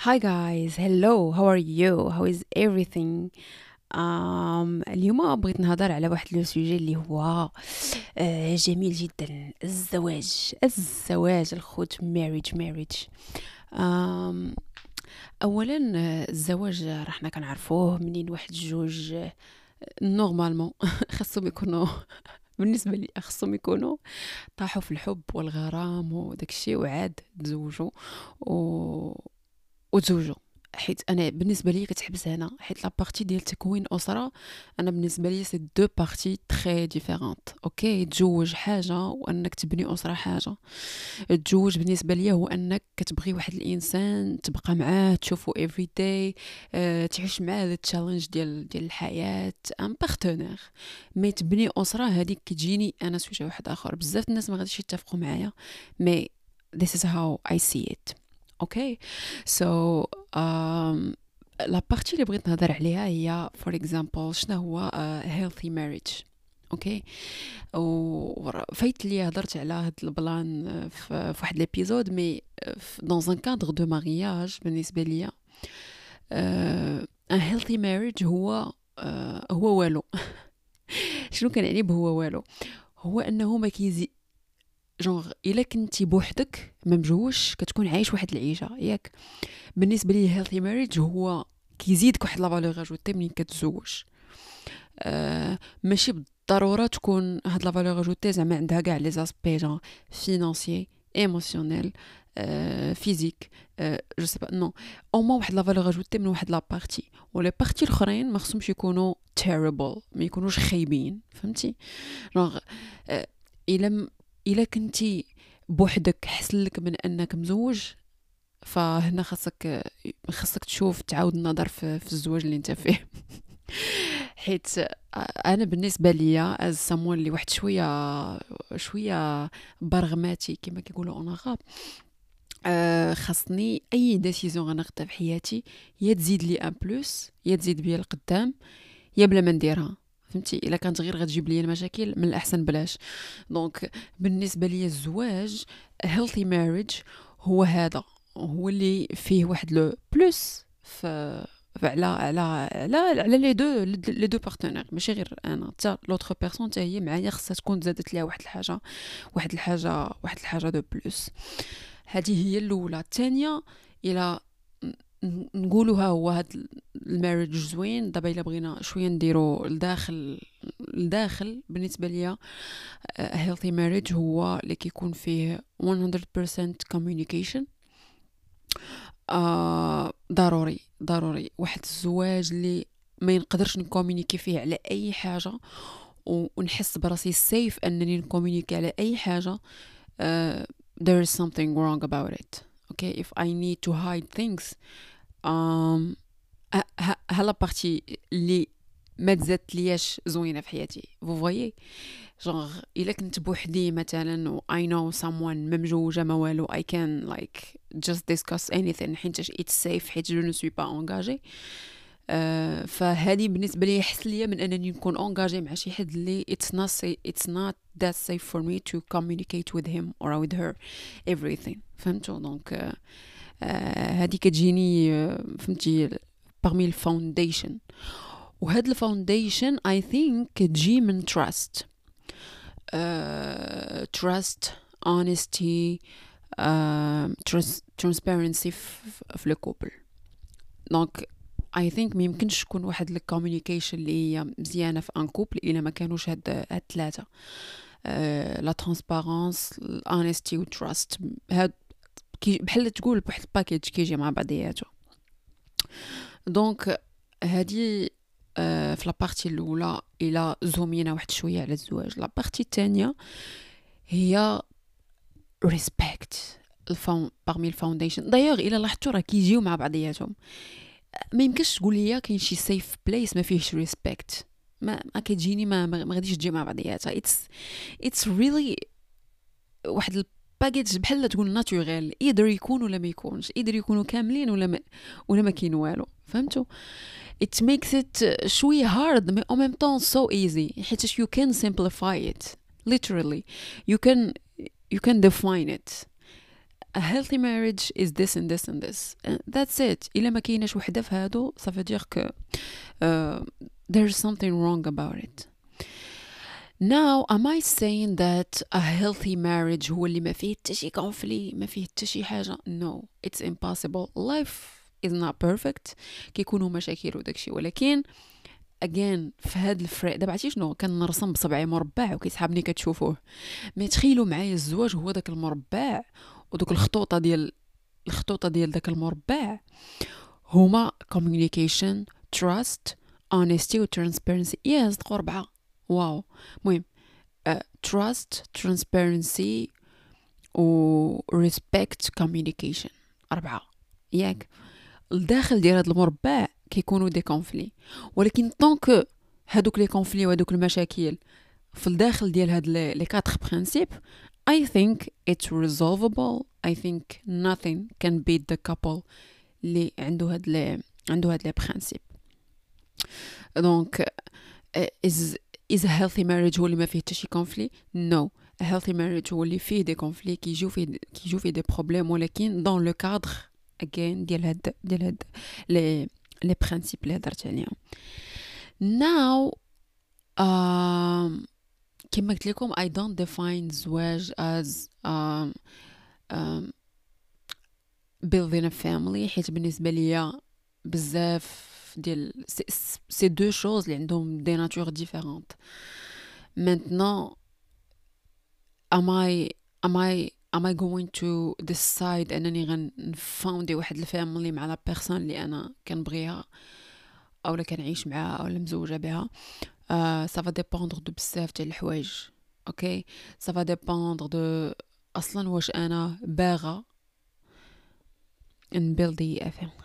Hi guys, hello, how are you? How is everything? اليوم بغيت نهضر على واحد لو سوجي اللي هو جميل جدا. الزواج الخوت marriage. آم اولا الزواج حنا كنعرفوه منين واحد جوج نورمالمون خاصهم يكونوا بالنسبه لي خاصهم يكونوا طاحوا في الحب والغرام وداك الشيء وعاد تزوجوا و... وتزوجوا. حيت انا بالنسبه لي كتحبس هنا، حيت لا بارتي ديال تكوين اسره، انا بالنسبه لي سي دو بارتي تري ديفيرونت. اوكي، تزوج حاجه وانك تبني اسره حاجه. التزوج بالنسبه لي هو انك كتبغي واحد الانسان تبقى معاه تشوفو افري داي، تعيش معاه التشالنج ديال الحياه، ان بارتنير. مي تبني اسره هذيك كتجيني انا سوجي واحد اخر. بزاف الناس ما غاديش يتفقوا معايا، مي this is how I see it. اوكي سو لا بارتي اللي بغيت نهضر عليها هي فور اكزامبل شنو هو healthy marriage. اوكي، وفايت لي هضرت على هاد البلان في واحد ليبيزود، مي dans un cadre de mariage بالنسبه ليا ان healthy marriage هو والو. شنو كنعني بهو والو؟ هو انه ما كيزي جونغ الا كنتي بوحدك ما مجوش كتكون عايش واحد العيشه ياك. بالنسبه لي هيلثي ماريج هو كيزيدك واحد لا فالور اجوتي ملي كتزوج. ماشي بالضروره تكون هاد لا فالور اجوتي زعما عندها كاع لي زاسبي جون فينانسيي ايموسيونيل فيزيك، جو سي با نو، او ما واحد لا فالور اجوتي من واحد لا بارتي، ولي بارتي الاخرين ما خصهمش يكونوا تيربل، ما يكونوش خايبين، فهمتي؟ جونغ الا كنتي بوحدك حسن لك من انك مزوج، فهنا خاصك تشوف تعاود النظر في الزواج اللي انت فيه. حيت انا بالنسبه ليا از سامون اللي واحد شويه برغماتي كما كيقولوا اون غاب، خاصني اي ديسيزيون غناخدها في حياتي يا تزيد لي ان بلوس، يا تزيد بيا القدام، يا بلا ما نديرها. فهمتي؟ الا كانت غير غتجيب لي المشاكل من الاحسن بلاش. دونك بالنسبه لي الزواج healthy marriage هو هذا، هو اللي فيه واحد لو بلوس على لي دو بارتنير، ماشي غير انا، حتى لوتر بيرسون حتى هي معايا خصها تكون زادت ليها واحد الحاجه دو بلوس. هذه هي الاولى. الثانيه، الى نقولوا ها هو هاد الماريج زوين، دابا الا بغينا شويه نديرو الداخل بالنسبه ليا healthy marriage هو اللي كيكون فيه 100% communication. ضروري واحد الزواج اللي ما ينقدرش نكومونيكي فيه على اي حاجه، ونحس براسي سيف انني نكومونيكي على اي حاجه. there is something wrong about it. Okay, if I need to hide things, هلا بارتي اللي ما تزادت لياش زوينه في حياتي. فو فويي جونغ الا كنت بوحدي مثلا و I know someone ما مجوجه ما والو، I can like just discuss anything حيت it's safe، حيت je ne suis pas engagée. فهذه بالنسبه لي احسن ليا من انني نكون انغاجي مع شي حد اللي it's not that safe for me to communicate with him or with her everything. فهمتوا؟ دونك هذه كتجيني فهمتي parmi الفاونديشن. وهاد الفاونديشن I think كتجي من trust. trust, honesty, transparency في le couple. دونك I think ما يمكنش تكون واحد الكوميونيكيشن اللي هي مزيانه في ان كوبل الا ما كانوش هاد الثلاثه، لا ترانسبارونس، الانستي والتراست. هاد بحال تقول بواحد الباكيج كيجي مع بعضياته. دونك هادي في لابارتي الاولى الى زومينا واحد شويه على الزواج. لابارتي الثانيه هي ريسبكت parmi الفاونديشن. دايوغ الى لاحظتوا راه كيجيو مع بعضياتهم. ما يمكنش تقول لي كاين شي سيف بليس ما فيهش ريسبكت، ما كتجيني ما غاديش تجي مع بعضياتها. it's really واحد الباكيج بحال تقول ناتوريل، يقدر يكون ولا ما يكونش، يقدر يكونوا كاملين ولا ما كاين والو. فهمتوا؟ it makes it شويه hard but en même temps so easy، حيت you can simplify it literally. you can define it. a healthy marriage is this and this and this. That's it. إلا ما كايناش وحدة في هادو ça veut dire que there's something wrong about it. Now, am I saying that a healthy marriage هو اللي ما فيه حتى شي conflict ما فيه حتى شي حاجة؟ No, it's impossible. Life is not perfect. كيكونوا مشاكل وداكشي، ولكن again في هاد الفريق دابا عرفتي شنو كنرسم بصبعي مربع وكيسحابني كتشوفوه. ما تخيلوا معايا الزواج هو داك المربع ودوك الخطوطه ديال داك المربع هما communication, trust, honesty و transparency. صدقوا 4. واو. المهم trust, transparency و respect, communication. 4 ياك. الداخل ديال هاد المربع كيكونوا دي كونفلي، ولكن طونك هادوك لي كونفلي وهادوك المشاكل في الداخل ديال هاد لي 4 برينسيپ I think it's resolvable. I think nothing can beat the couple اللي عنده هاد لي برينسيپ. دونك is a healthy marriage هو اللي ما فيه حتى شي كونفلي؟ No. A healthy marriage هو اللي فيه دي كونفلي كيجيو فيه دي بروبليم، ولكن دون لو كادر again ديال هاد لي برينسيپ اللي هضرت عليهم. Now كما قلت لكم I don't define الزواج as building a family، حيت بالنسبه ليا بزاف ديال سي دو شوز اللي عندهم دي ناتور ديفيرونت. maintenant am I going to decide انني غنفاوندي واحد الفاميلي مع لا بيرسون اللي انا كنبغيها اولا كنعيش معاها اولا مزوجه بها؟ ça va dépendre de بزاف ديال الحوايج. اوكي ça va dépendre de اصلا واش انا باغا نبيلدي افهم